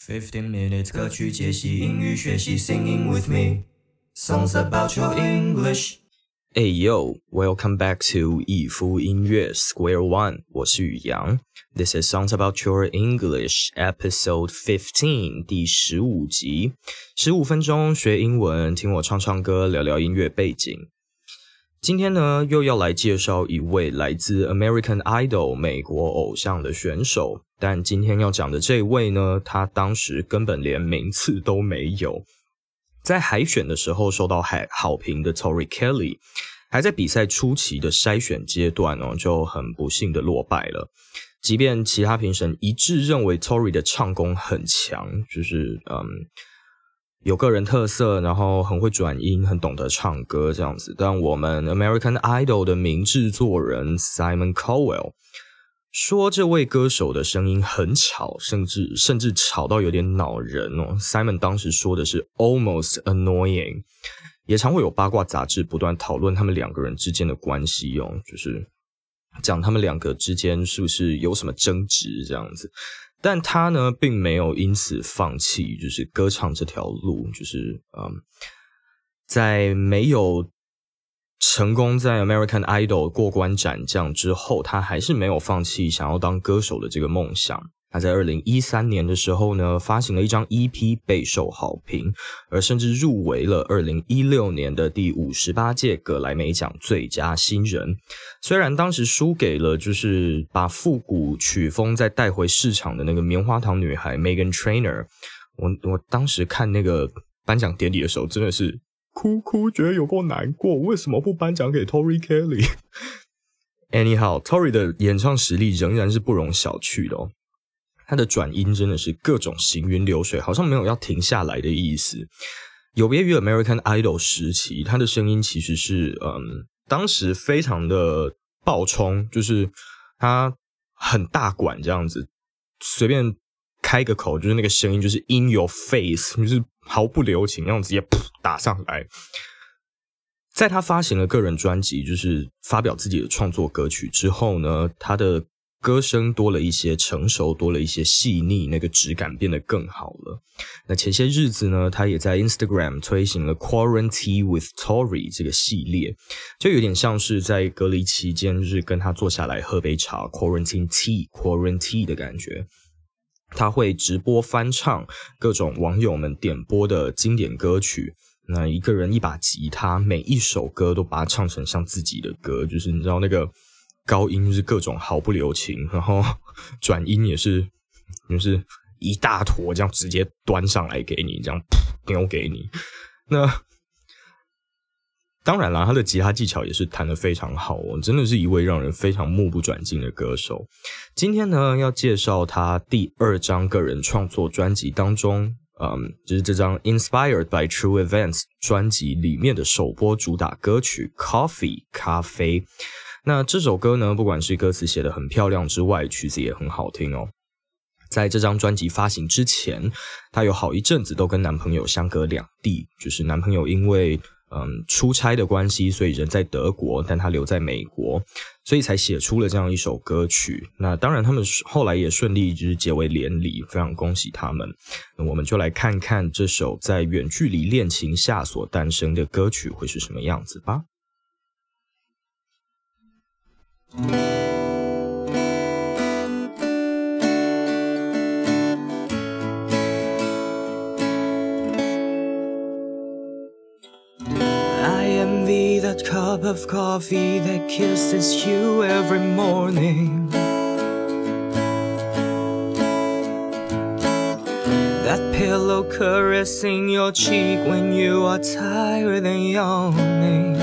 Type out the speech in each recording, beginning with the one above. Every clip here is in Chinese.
15 minutes 歌曲解析英语学习 Singing with me Songs about your English Hey yo, welcome back to 逸夫音乐 Square One， 我是宇阳。This is Songs About Your English, Episode 15, 第15集。15分钟学英文，听我唱唱歌，聊聊音乐背景。今天呢，又要来介绍一位来自 American Idol 美国偶像的选手，但今天要讲的这位呢，他当时根本连名次都没有。在海选的时候受到好评的 Tori Kelly， 还在比赛初期的筛选阶段就很不幸的落败了。即便其他评审一致认为 Tori 的唱功很强，就是有个人特色，然后很会转音，很懂得唱歌这样子，但我们 American Idol 的名制作人 Simon Cowell 说这位歌手的声音很吵，甚至吵到有点恼人Simon 当时说的是 almost annoying， 也常会有八卦杂志不断讨论他们两个人之间的关系就是讲他们两个之间是不是有什么争执这样子。但他呢并没有因此放弃就是歌唱这条路，就是在没有成功在 American Idol 过关斩将之后，他还是没有放弃想要当歌手的这个梦想。他在2013年的时候呢，发行了一张 EP 备受好评，而甚至入围了2016年的第58届葛莱美奖最佳新人。虽然当时输给了就是把复古曲风再带回市场的那个棉花糖女孩 Meghan Trainor， 我当时看那个颁奖典礼的时候真的是哭，觉得有够难过，为什么不颁奖给 Tori Kelly？ Anyhow， Tori 的演唱实力仍然是不容小觑的他的转音真的是各种行云流水，好像没有要停下来的意思。有别于 American Idol 时期，他的声音其实是当时非常的爆冲，就是他很大管这样子，随便开个口就是那个声音就是 in your face， 就是毫不留情那样直接打上来。在他发行了个人专辑，就是发表自己的创作歌曲之后呢，他的歌声多了一些成熟，多了一些细腻，那个质感变得更好了。那前些日子呢，他也在 Instagram 推行了 Quarantine with Tori 这个系列，就有点像是在隔离期间就是跟他坐下来喝杯茶 Quarantine Tea 的感觉。他会直播翻唱各种网友们点播的经典歌曲，那一个人一把吉他，每一首歌都把它唱成像自己的歌，就是你知道那个高音就是各种毫不留情，然后转音也是就是一大坨这样直接端上来给你，这样丢给你。那当然啦，他的吉他技巧也是弹得非常好真的是一位让人非常目不转睛的歌手。今天呢要介绍他第2张个人创作专辑当中就是这张 Inspired by True Events 专辑里面的首播主打歌曲 Coffee 咖啡。那这首歌呢，不管是歌词写得很漂亮之外，曲子也很好听在这张专辑发行之前，她有好一阵子都跟男朋友相隔两地，就是男朋友因为出差的关系，所以人在德国，但他留在美国，所以才写出了这样一首歌曲。那当然他们后来也顺利就是结为连理，非常恭喜他们。那我们就来看看这首在远距离恋情下所诞生的歌曲会是什么样子吧。 I envy that cup of coffee that kisses you every morning That pillow caressing your cheek when you are tired and yawning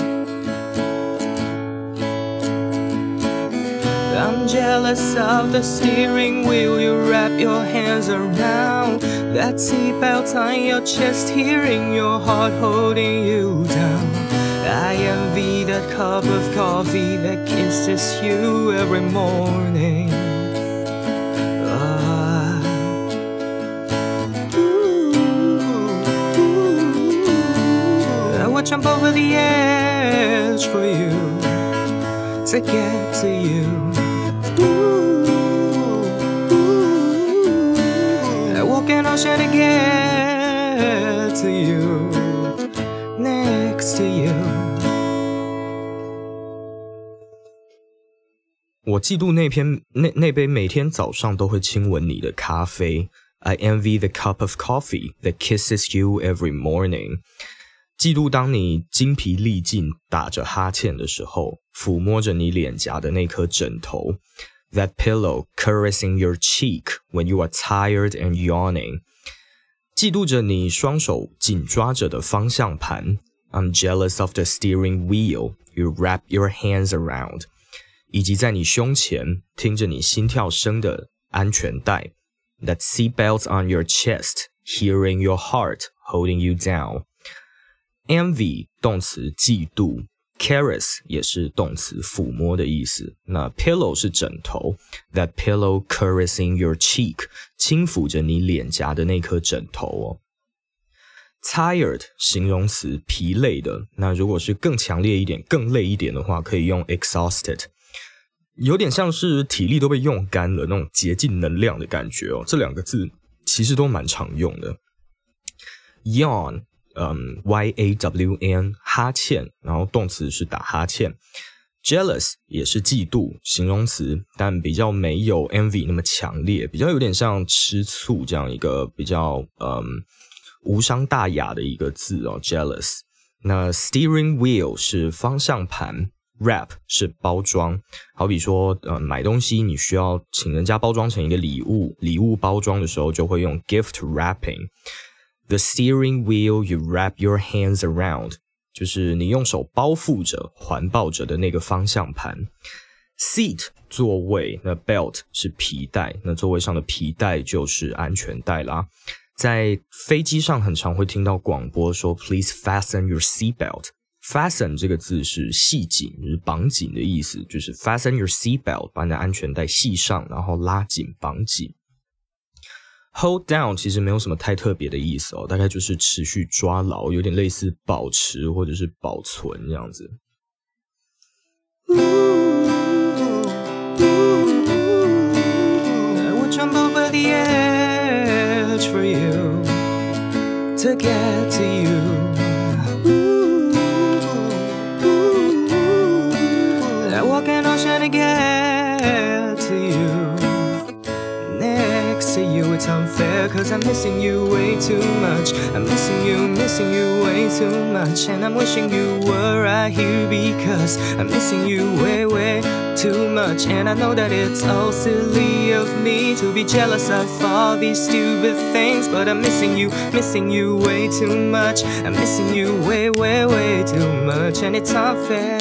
I'm jealous of the steering wheel you wrap your hands around That seatbelt on your chest, hearing your heart holding you down I envy that cup of coffee that kisses you every morning I would jump over the edge for you to get to you an ocean to get to you, next to you. 我嫉妒那杯每天早上都会亲吻你的咖啡。I envy the cup of coffee that kisses you every morning. 嫉妒当你精疲力尽打着哈欠的时候，抚摸着你脸颊的那颗枕头。That pillow caressing your cheek when you are tired and yawning. 嫉妒着你双手紧抓着的方向盘。I'm jealous of the steering wheel you wrap your hands around. 以及在你胸前听着你心跳声的安全带。That seatbelt on your chest, hearing your heart holding you down. Envy 动词嫉妒， caress 也是动词抚摸的意思。那 pillow 是枕头， That pillow caressing your cheek 轻抚着你脸颊的那颗枕头哦。Tired 形容词疲累的，那如果是更强烈一点更累一点的话，可以用 exhausted。有点像是体力都被用干了那种竭尽能量的感觉哦，这两个字其实都蛮常用的。Yawn Y-A-W-N 哈欠，然后动词是打哈欠。Jealous 也是嫉妒形容词，但比较没有 envy 那么强烈，比较有点像吃醋这样一个比较无伤大雅的一个字哦 jealous。那 steering wheel 是方向盘，Wrap 是包装，好比说买东西你需要请人家包装成一个礼物包装的时候就会用 gift wrapping。 The steering wheel you wrap your hands around 就是你用手包覆着环抱着的那个方向盘。Seat 座位，那 belt 是皮带，那座位上的皮带就是安全带啦。在飞机上很常会听到广播说 Please fasten your seatbelt。Fasten 这个字是系紧，就是绑紧的意思，就是 fasten your seatbelt 把你的安全带系上，然后拉紧绑紧。Hold down 其实没有什么太特别的意思哦，大概就是持续抓牢，有点类似保持或者是保存这样子。 I would jump over the edge for you to get to you.I walk an ocean to get to you, next to you. It's unfair cause I'm missing you way too much. I'm missing you way too much. And I'm wishing you were right here because I'm missing you way too much. And I know that it's all silly of me to be jealous of all these stupid things, but I'm missing you way too much. I'm missing you way too much. And it's unfair.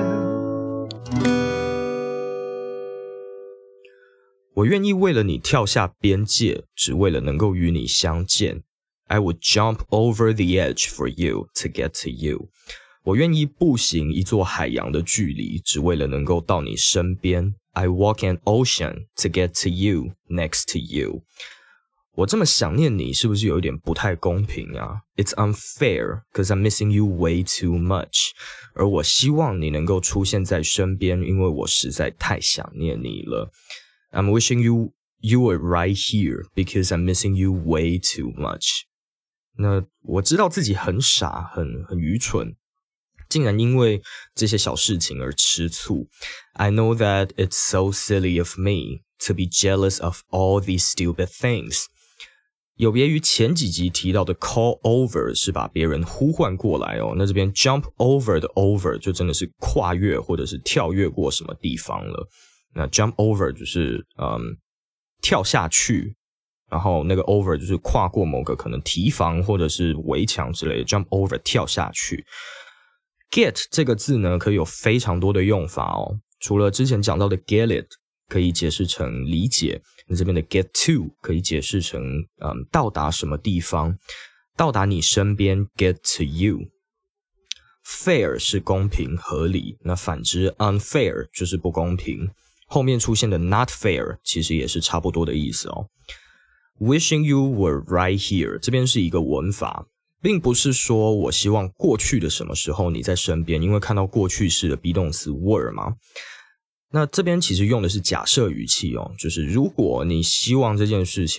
我愿意为了你跳下边界，只为了能够与你相见。I would jump over the edge for you to get to you. 我愿意步行一座海洋的距离，只为了能够到你身边。I walk an ocean to get to you, next to you. 我这么想念你，是不是有一点不太公平啊？ It's unfair, cause I'm missing you way too much. 而我希望你能够出现在身边，因为我实在太想念你了。I'm wishing you were right here because I'm missing you way too much. 那我知道自己很傻，很愚蠢，竟然因为这些小事情而吃醋。I know that it's so silly of me to be jealous of all these stupid things. 有别于前几集提到的 call over 是把别人呼唤过来哦，那这边 jump over 的 over 就真的是跨越或者是跳跃过什么地方了。那 jump over 就是跳下去，然后那个 over 就是跨过某个可能堤防或者是围墙之类的 jump over 跳下去。Get 这个字呢可以有非常多的用法哦，除了之前讲到的 get it 可以解释成理解，那这边的 get to 可以解释成到达什么地方，到达你身边 get to you。Fair 是公平合理，那反之 unfair 就是不公平。后面出现的 not fair 其实也是差不多的意思哦。Wishing you were right here 这边是一个文法，并不是说我希望过去的什么时候你在身边，因为看到过去式的 be 动词 were 嘛。那这边其实用的是假设语气哦，就是如果你希望这件事情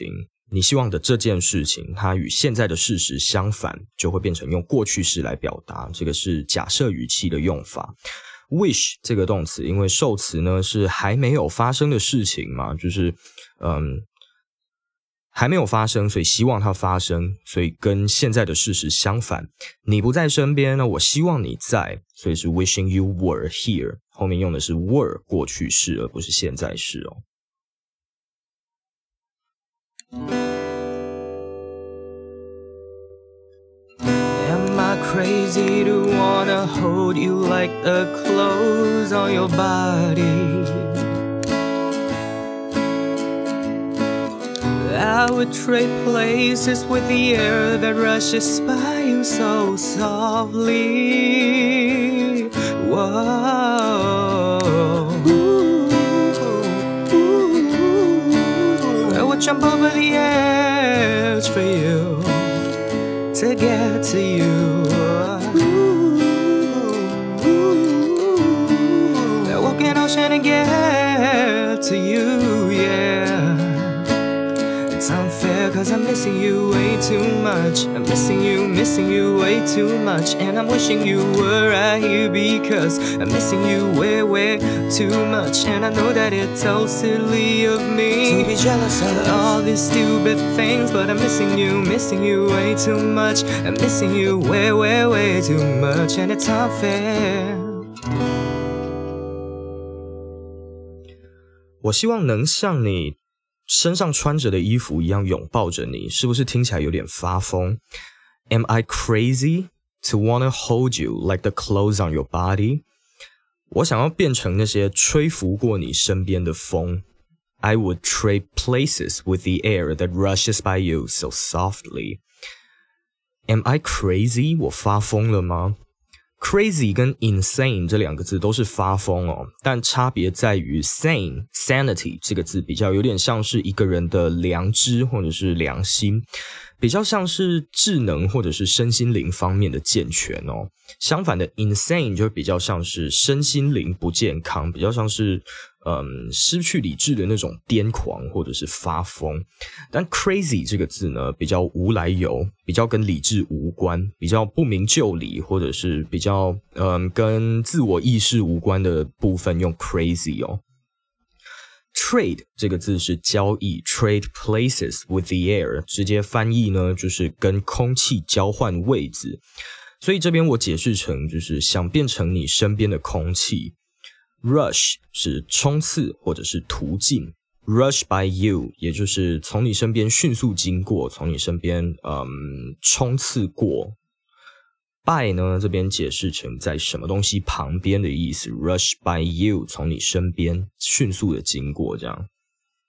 你希望的这件事情它与现在的事实相反，就会变成用过去式来表达，这个是假设语气的用法。wish 这个动词因为受词呢是还没有发生的事情嘛，就是还没有发生，所以希望它发生，所以跟现在的事实相反。你不在身边呢，我希望你在，所以是 wishing you were here， 后面用的是 were 过去式而不是现在式哦。 Am I crazy to wanna hold you like the clothes on your body? I would trade places with the air that rushes by you so softly. Whoa. I would jump over the edge for you to get to you. I walk an ocean and get to you, yeah.It's unfair cause I'm missing you way too much. I'm missing you way too much. And I'm wishing you were right here because I'm missing you way, way too much. And I know that it's so silly of me to be jealous of all these stupid things, but I'm missing you way too much. I'm missing you way, way, way too much. And it's unfair. 我希望能像你身上穿着的衣服一样拥抱着你，是不是听起来有点发疯？ Am I crazy to wanna hold you like the clothes on your body? 我想要变成那些吹拂过你身边的风。 I would trade places with the air that rushes by you so softly. Am I crazy? 我发疯了吗？Crazy 跟 insane 这两个字都是发疯哦，但差别在于 sanity 这个字比较有点像是一个人的良知或者是良心，比较像是智能或者是身心灵方面的健全哦。相反的 insane 就比较像是身心灵不健康，比较像是失去理智的那种癫狂或者是发疯。但 crazy 这个字呢比较无来由，比较跟理智无关，比较不明就里，或者是比较跟自我意识无关的部分用 crazy 哦。Trade 这个字是交易 ，trade places with the air， 直接翻译呢就是跟空气交换位置。所以这边我解释成就是想变成你身边的空气。Rush 是冲刺或者是途径 ，rush by you 也就是从你身边迅速经过，从你身边冲刺过。by 呢这边解释成在什么东西旁边的意思 ，rush by you 从你身边迅速的经过这样。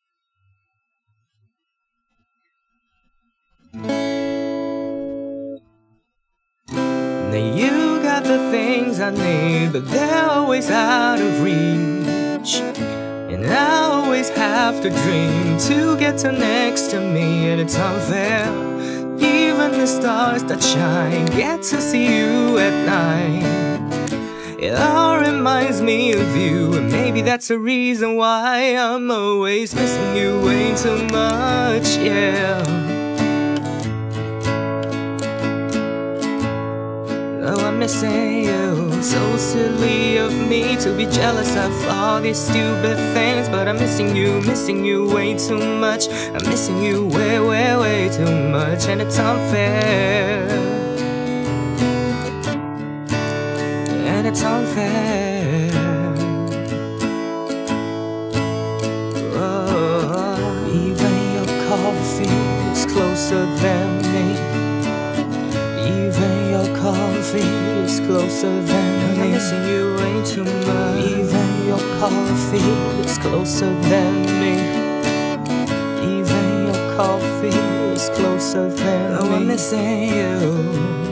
Now you got the things I need, but they're always out of reach. And I always have to dream to get to next to me, and it's unfair. Even the stars that shine get to see you at night. It all reminds me of you, and maybe that's the reason why I'm always missing you way too much, yeah.Oh, I'm missing you. So silly of me to be jealous of all these stupid things, but I'm missing you way too much. I'm missing you way, way, way too much, and it's unfair. And it's unfair. Oh, even your coffee is closer than me.Even your coffee is closer than me. I'm missing you way too much. Even your coffee is closer than me. Even your coffee is closer than me. I'm missing you.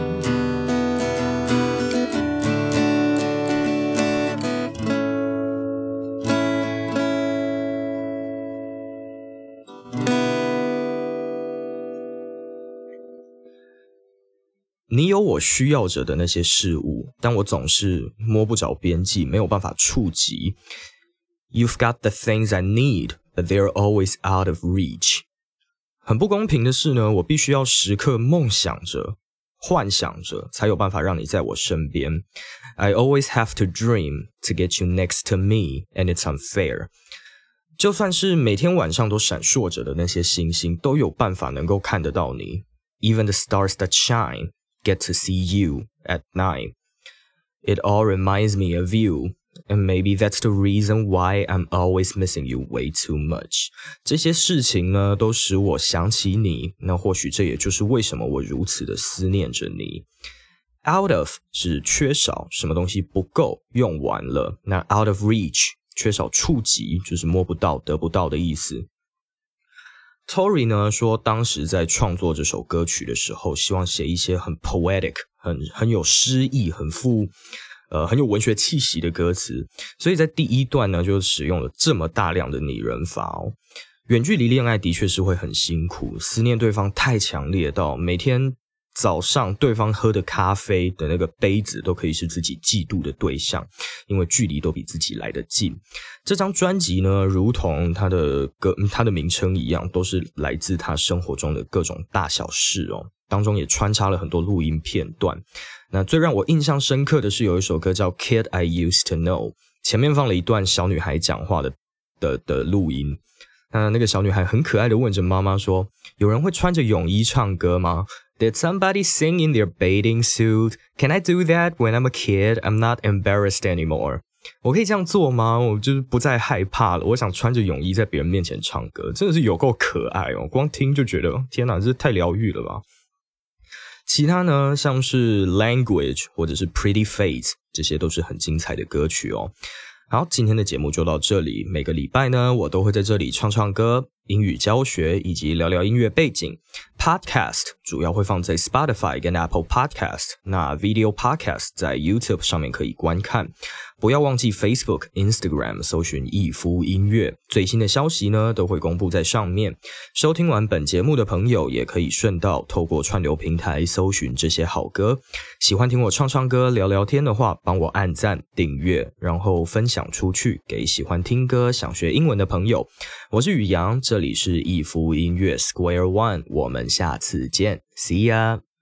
你有我需要着的那些事物，但我总是摸不着边际，没有办法触及。You've got the things I need, but they're always out of reach. 很不公平的是呢，我必须要时刻梦想着、幻想着，才有办法让你在我身边。I always have to dream to get you next to me, and it's unfair. 就算是每天晚上都闪烁着的那些星星，都有办法能够看得到你。Even the stars that shine get to see you at night. It all reminds me of you.And maybe that's the reason why I'm always missing you way too much. 这些事情呢，都使我想起你，那或许这也就是为什么我如此的思念着你。Out of 是缺少，什么东西不够，用完了。那 out of reach 缺少触及，就是摸不到、得不到的意思。Tori 呢说，当时在创作这首歌曲的时候，希望写一些很 poetic、很有诗意、很有文学气息的歌词，所以在第一段呢，就使用了这么大量的拟人法哦。远距离恋爱的确是会很辛苦，思念对方太强烈到每天早上对方喝的咖啡的那个杯子都可以是自己嫉妒的对象，因为距离都比自己来得近。这张专辑呢，如同它的名称一样，都是来自他生活中的各种大小事哦。当中也穿插了很多录音片段。那最让我印象深刻的是有一首歌叫 Kid I Used to Know， 前面放了一段小女孩讲话的录音。那个小女孩很可爱的问着妈妈说，有人会穿着泳衣唱歌吗？ Did somebody sing in their bathing suit? Can I do that when I'm a kid? I'm not embarrassed anymore. 我可以这样做吗？我就是不再害怕了，我想穿着泳衣在别人面前唱歌，真的是有够可爱哦，光听就觉得天哪，这太疗愈了吧。其他呢，像是 Language 或者是 Pretty Face， 这些都是很精彩的歌曲哦。好，今天的节目就到这里。每个礼拜呢，我都会在这里唱唱歌、英语教学以及聊聊音乐背景。Podcast 主要会放在 Spotify 跟 Apple Podcast， 那 Video Podcast 在 YouTube 上面可以观看。不要忘记 Facebook、Instagram 搜寻逸夫音乐，最新的消息呢都会公布在上面。收听完本节目的朋友也可以顺道透过串流平台搜寻这些好歌。喜欢听我唱唱歌、聊聊天的话，帮我按赞、订阅，然后分享出去给喜欢听歌、想学英文的朋友。我是宇阳，这里是逸夫音乐 Square One， 我们下次见 ，See ya。